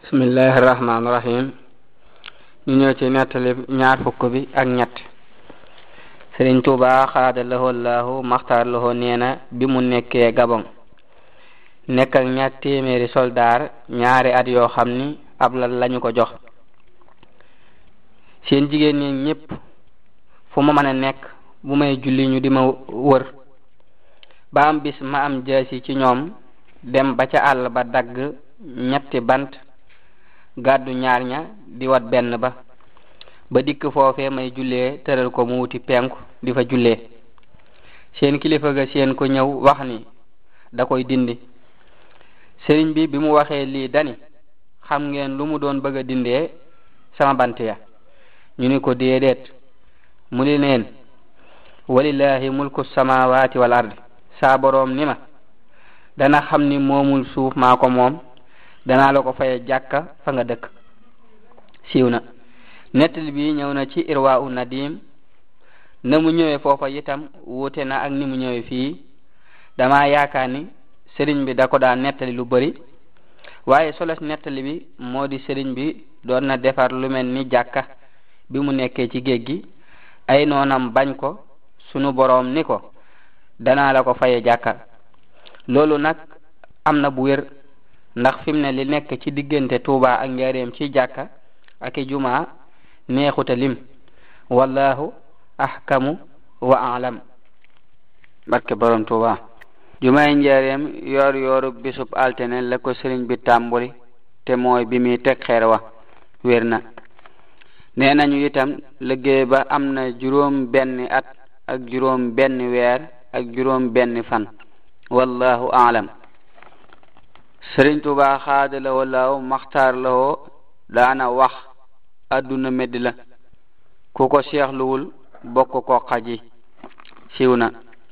bismillahir rahmanir rahim. ñu ñëw ci nettali ñaar fukk bi ak ñett. Sëriñ Tuubaa xaadalahoo laahu maxtaar lahoo neena bi mu nekkee Gabon nekk ak ñaar téeméeri soldaar ñaari at yoo xam ni ab lal lañu ko jox. seen jigéen ñi ñépp fu ma mën a nekk bu may julli ñu di ma wër ba am bis ma am jaasi ci ñoom dem ba ca àll ba dagg ñetti bant gàddu ñaar ña di wat benn ba dikk foofee may jullee tëral ko mu wuti penku di fa jullee. seen kilifa ga seen ko ñëw wax ni da koy dindi. sëriñ bi mu waxee lii dani xam ngeen lu mu doon bëgg a dindee sama bant ya. ñu ni ko déedéet. mu ni leen walillahi mulku samawati wal ardi. saa boroom ni ma dana xam ni moomul suuf maa ko moom danaa la ko faye jàkka fa nga dëkk. siiw na. nettali bi ñëw na ci irwa u nadim. na mu ñëwee foofa itam wuute na ak ni mu ñëwee fii. dama yaakaar ni sëriñ bi da ko daan nettali lu bari waaye solos nettali bi moo di sëriñ bi doon na defar lu mel ni jàkka bi mu nekkee ci géej gi ay noonam bañ ko sunu boroom ni ko danaa la ko faye jàkka. loolu nag am na bu wér ndax fi mu ne li nekk ci diggante Tuuba ak Njaaréem ci jàkka ak i jumaa neexuta lim. wallahu ahkamu wa alam. barke borom Tuuba. jumaay Njaaréem yoor yooru bisub altine la ko sëriñ bi tàmbuli te mooy bi muy teg xeer wa wér na. nee nañu itam liggéey ba am na juróom benn at ak juróom benn weer ak juróom benn fan. wallahu alam. sëriñ Tuuba xaadalawoo laaw maxtaar lawoo daana wax adduna medd la ku ko seexluwul bokk ko xaji. siiw na.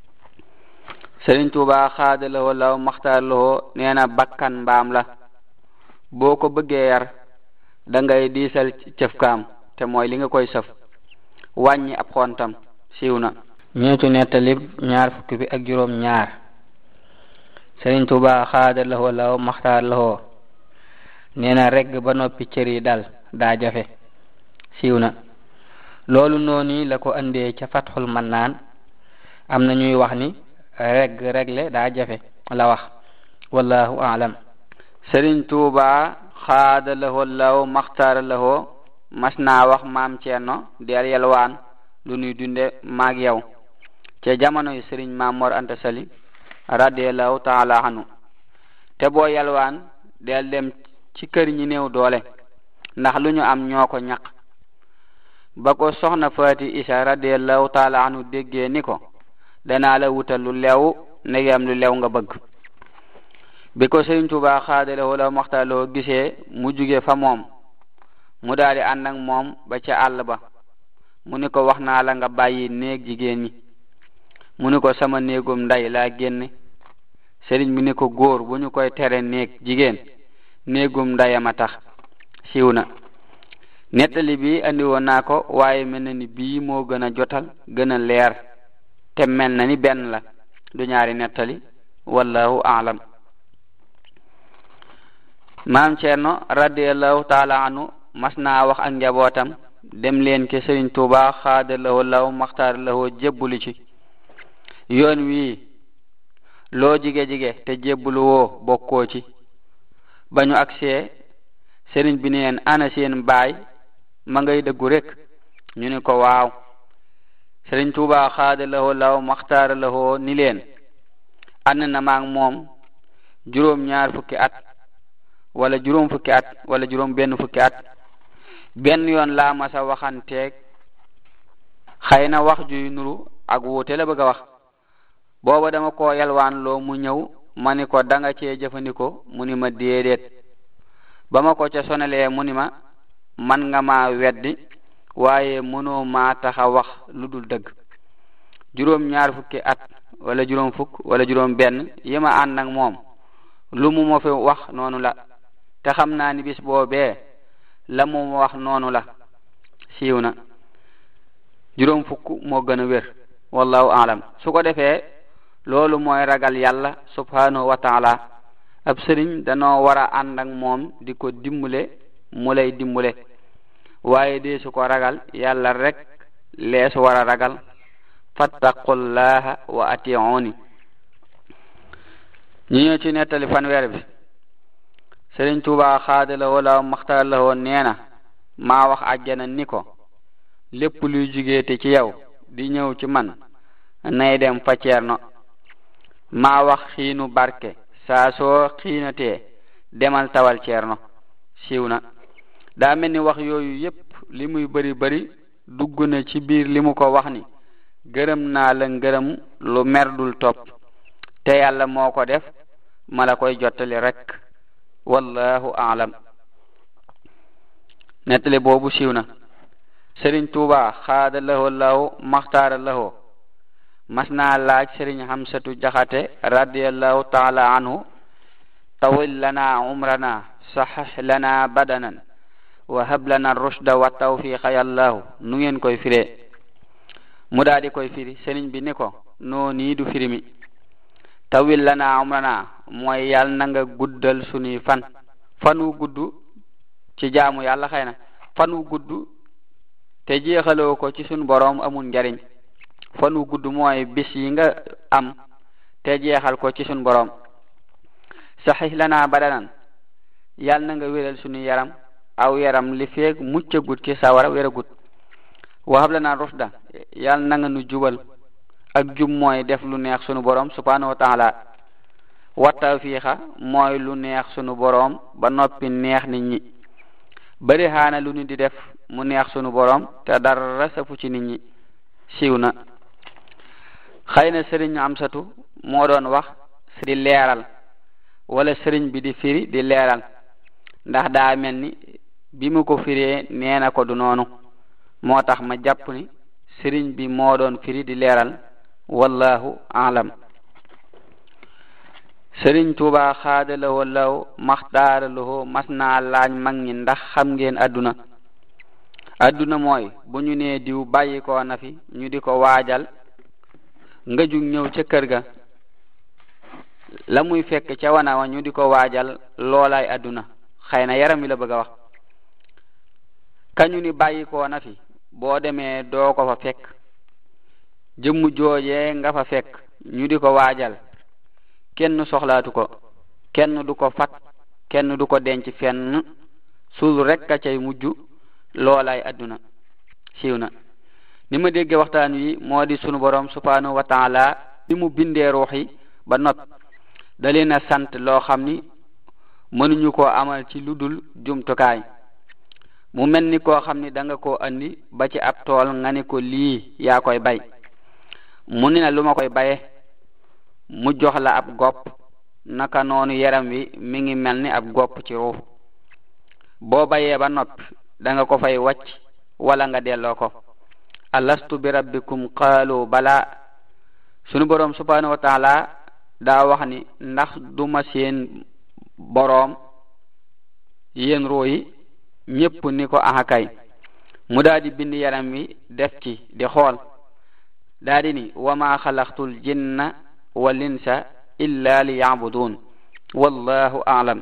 sëriñ Tuuba xaadalawoo laaw maxtaar lawoo nee na bakkan mbaam la boo ko bëggee yar da ngay diisal cëfkaam te mooy li nga koy sëf wàññi ab xontam. siiw na. ñeetu nettalib ñaar fukki bi ak juróom ñaar. sëriñ Tuuba xaadalawoo laaw maxtaar lawoo nee na regg ba noppi cër yi dal daa jafe. siiw na. loolu noonu la ko andee ca Fatxul Mannaan. am na ñuy wax ni regle daa jafe la wax. wallahu alam. sëriñ Tuuba xaadalawoo laaw maxtaar lawoo mas naa wax maam Ceerno del yelwaan lu nuy dunde maag yow ca jamonoy sëriñ Maam Mor Anta Sali radiyallahu taala anhu. te boo yelwaan del dem ci kër ñi néew doole ndax lu ñu am ñoo ko ñaq. ba ko soxna Faati Isa radiyallahu taala anhu déggee ni ko danaa la wutal lu lew ndegam lu lew nga bëgg. bi ko sëriñ Tuuba xaadalawoo la maxtaloo gisee mu jóge fa moom mu daldi ànd ak moom ba ca àll ba. mu ni ko wax naa la nga bàyyi néeg jigéen ñi. mu ni ko sama néegum nday laa génne. sëriñ bi ni ko góor bu ñu koy tere néeg jigéen néegum ndayama tax. siiw na. nettali bi andi woon naa ko waaye mel na ni bii moo gën a jotal gën a leer te mel na ni benn la du ñaari nettali. wallahu aalam. maam Ceerno radiyallahu taala anhu mas naa wax ak njabootam dem leen ke sëriñ Tuuba xaadalawoo law maxtaar lawoo jébbulu ci yoon wii loo jige te jébbulu woo bokkoo ci. ba ñu agsee sëriñ bi ni leen ana seen baay ma ngay dëggu rek. ñu ni ko waaw. sëriñ Tuuba xaadalawoo law maxtaar lawoo ni leen ànd na maag moom juróom ñaar fukki at wala juróom fukki at wala juróom benn fukki at. benn yoon laa masa waxanteeg xëy na wax juy nuru ak wuute la bëgg a wax. booba dama ko yalwaan loo mu ñëw ma ni ko danga cee jëfandikoo mu ni ma déedéet. ba ma ko ca sonalee mu ni ma man nga ma weddi waaye mënoo maa taxa wax lu dul dëgg. juróom ñaar fukki at wala juróom fukk wala juróom benn yi ma ànd ak moom lu mu ma fi wax noonu la te xam naa ni bis boobee la mu wax noonu la. siiw na. juróom fukk moo gën a wér. wallahu alam. su ko defee loolu mooy ragal yàlla subhanahu wa taala ab sëriñ danoo war a ànd ak moom di ko dimbule mu lay dimbule waaye dee su ko ragal yàlla rek lees war a ragal fattaqullaha wa ati'uni ñi ñëw ci nettali fanweer bi Sëriñ Tuubaa xaadala wala maxtaar la woon nee na maa wax àjjana ni ko lépp luy jugeete ci yow di ñëw ci man nay dem fa Ceerno maa wax xiinu barke saa soo xiinatee demal tawal Ceerno siiw na daa mel ni wax yooyu yépp li muy bari bari dugg na ci biir li mu ko wax ni gërëm naa la ngërëm lu merdul topp te yàlla moo ko def ma la koy jottali rek wallahu a'lam nettali boobu siiw na Sëriñ Tuubaa xaada lahoo law maxtaara lahoo mas naa laaj Sëriñ Hamsatu Jaxate radiyallahu taala anhu tawil lana umrana sahih lana badanan wa hab lana rushda wa tawfiqa yallahu nu ngeen koy firee mu daal di koy firi sëriñ bi ni ko noo nii du firi mi tawil lana umrana mooy yàlla na nga guddal sunuy fan wu gudd ci jaamu yàlla xëy na fan wu gudd te jeexaloo ko ci sunu boroom amul njariñ fan wu gudd mooy bis yi nga am te jeexal ko ci sunu boroom sahih lana badanan yàlla na nga wéral sunu yaram aw yaram li feeg muccagut ci sawara wéragut wahab lana rusda yàlla na nga nu jubal ak jub mooy def lu neex sunu boroom subhanahu wa ta'ala wa tawfiqa mooy lu neex sunu boroom ba noppi neex nit ñi bari xaana lu ñu di def mu neex sunu boroom te dara safu ci nit ñi siiw na xëy na sëriñ Amsatu moo doon wax di leeral wala sëriñ bi di firi di leeral ndax daa mel ni bi mu ko firee nee na ko du noonu moo tax ma jàpp ni sëriñ bi moo doon firi di leeral wallahu a'lam Sëriñ Tuubaa xaadalawoo law maxtaaralawoo mas naa laaj mag ñi ndax xam ngeen adduna mooy bu ñu nee diw bàyyi ko na fi ñu di ko waajal nga jug ñëw ca kër ga la muy fekk ca wana wa ñu di ko waajal loolaay adduna xëy na yaram wi la bëgg a wax kañu ni bàyyi ko na fi boo demee doo ko fa fekk jëmmu joojee nga fa fekk ñu di ko waajal kenn soxlaatu ko kenn du ko fat kenn du ko denc fenn suul rek a cay mujj loolaay adduna siiw na ni ma dégge waxtaan wi moo di sunu borom subhanahu wa ta'ala bi mu bindee ruux yi ba not da leen a sant loo xam ni mënuñu koo amal ci lu dul jumtukaay mu mel ni koo xam ni da nga koo andi ba ci ab tool nga ni ko lii yaa koy bay mu ni na lu ma koy baye mu jox la ab gopp naka noonu yaram wi mi ngi mel ni ab gopp ci ruux boo bayee ba noppi da nga ko fay wacc wala nga delloo ko alastu bi rabbikum qaalu bala sunu boroom subhanahu wa ta'ala daa wax ni ndax duma seen boroom yéen ruux yi ñépp ni ko ahakay mu daal di bind yaram wi def ci di xool daal di ni wa ma xalaqtul jinna wal insa illa liya'budun wallahu a'lam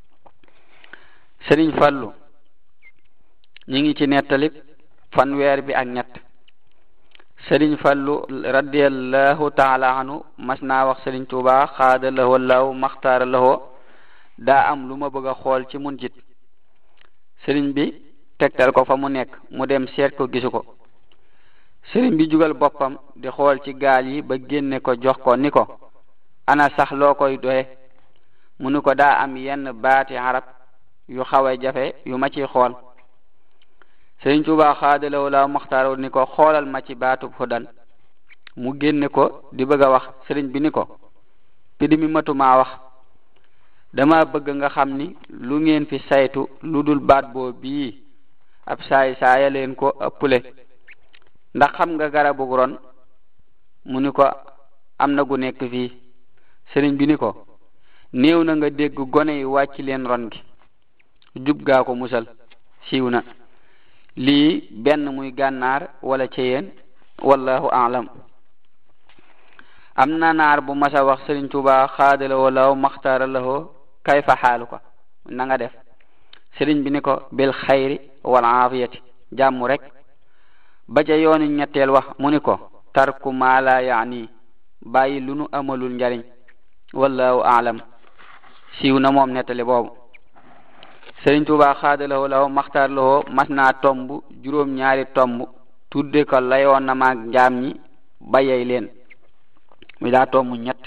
Sëriñ Fallu ñi ngi ci nettali fanweer bi ak ñett Sëriñ Fallu radiyallahu ta'ala anhu mas naa wax Sëriñ Tuubaa xaada lahoo law maxtaara lahoo daa am lu ma bëgg a xool ci mun jit sëriñ bi tegtal ko fa mu nekk mu dem seet ko gisu ko sëriñ bi jugal boppam di xool ci gaal yi ba génne ko jox ko ni ko ana sax loo koy doye mu ni ko daa am yenn baati arab yu xawe jafe yu ma ciy xool Sëriñ Tuubaa xaadalaw la maxtaarul ni ko xoolal ma ci baatub hudan mu génne ko di bëgg a wax sëriñ bi ni ko pidi mi matumaa wax dama bëgg nga xam ni lu ngeen fi saytu lu dul baat boo bii ab saay saaya leen ko ëppule ndax xam nga garabu ron mu ni ko am na gu nekk fii sëriñ bi ni ko néew na nga dégg gone yi wàcc leen ron gi jub gaa ko musal siiw na lii benn muy gànnaar wala ceyeen wallahu a'lam am na naar bu masa wax Sëriñ Tuubaa xaadala walaw maxtaara lahoo kayfa xaaluka na nga def sëriñ bi ni ko bil xayri wal aafiyati jàmm rek ba ca yoonu ñetteel wax mu ni ko tarku ma la yaani bàyyi lu nu amalul njariñ wallahu aalam siiw na moom nettali boobu sëriñ Tuubaa xaadalawoo law maxtaar lawoo mas naa tomb juróom-ñaari tomb tudde ko layoon na maag njaam ñi bayey leen mi daa tomb ñett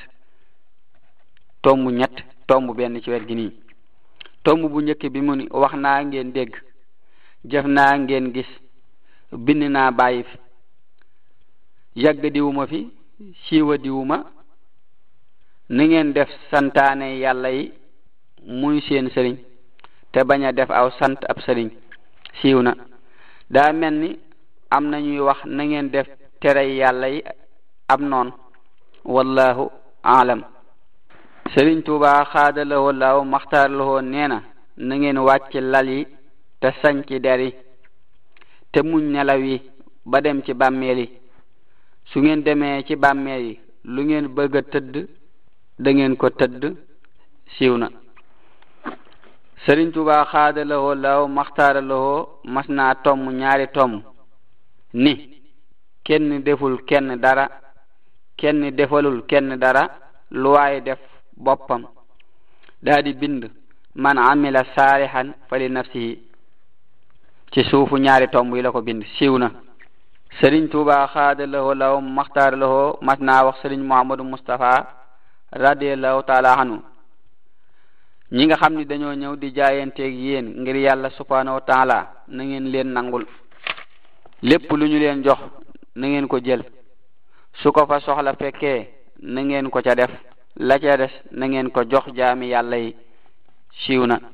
tomb benn ci wet gi nii tomb bu njëkk bi mu ni wax naa ngeen dégg jëf naa ngeen gis bind naa bàyyi fi yàgg diwuma fi siiwa diwuma ni ngeen def santaane yàlla yi muy seen sëriñ te bañ a def aw sant ab sëriñ siiw na daa mel ni am na ñuy wax na ngeen def tere yàlla yi ab noon wallahu aalam sëriñ Tuubaa xaadalawoo laaw maxtaar lawoo nee na ngeen wàcc lal yi te sañ ci der yi te muñ nelaw yi ba dem ci bàmmeel yi su ngeen demee ci bàmmeel yi lu ngeen bëgg a tëdd da ngeen ko tëdd siiw na sëriñ Tuubaa xaadalawoo laaw maxtaar lawoo mas naa tomm ñaari tomm ni kenn deful kenn dara kenn defalul kenn dara lu waay def boppam daa di bind man amila saalihan fali nafsihi ci suufu ñaari tomb yi la ko bind siiw na sëriñ Tuubaa xaadalawoo law maxtaar lawoo mas naa wax sëriñ Muhammadu Mustafa radiyallahu taala anhu ñi nga xam ni dañoo ñëw di jaayanteeg yéen ngir yàlla subhanahu wa taala na ngeen leen nangul lépp lu ñu leen jox na ngeen ko jël su ko fa soxla fekkee na ngeen ko ca def la ca des na ngeen ko jox jaami yàlla yi siiw na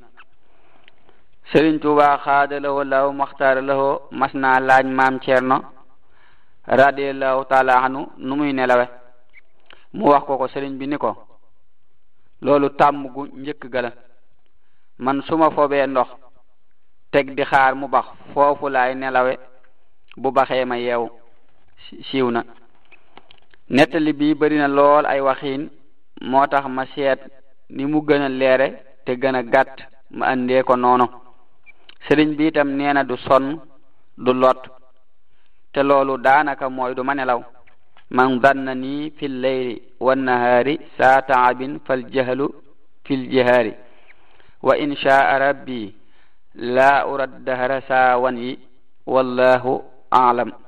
sëriñ Tuubaa xaadalawoo law maxtaar lawoo mas naa laaj maam Cerno radiyallahu taala anhu nu muy nelawe mu wax ko sëriñ bi ni ko loolu tàmm gu njëkk gala man suma fobee ndox teg di xaar mu bax foofu laay nelawe bu baxee ma yeewu siiw na nettali bi bari na lool ay waxiin moo tax ma seet ni mu gën a leere te gën a gàtt ma andee ko noonu sëriñ bi itam nee na du sonn du lot te loolu daanaka mooy du ma nelaw man danna nii fil layli wan nahaari saa taabin fal jahlu fil jihaari wa in shaa rabbi laa urad dahra saa wan yi wallahu aalam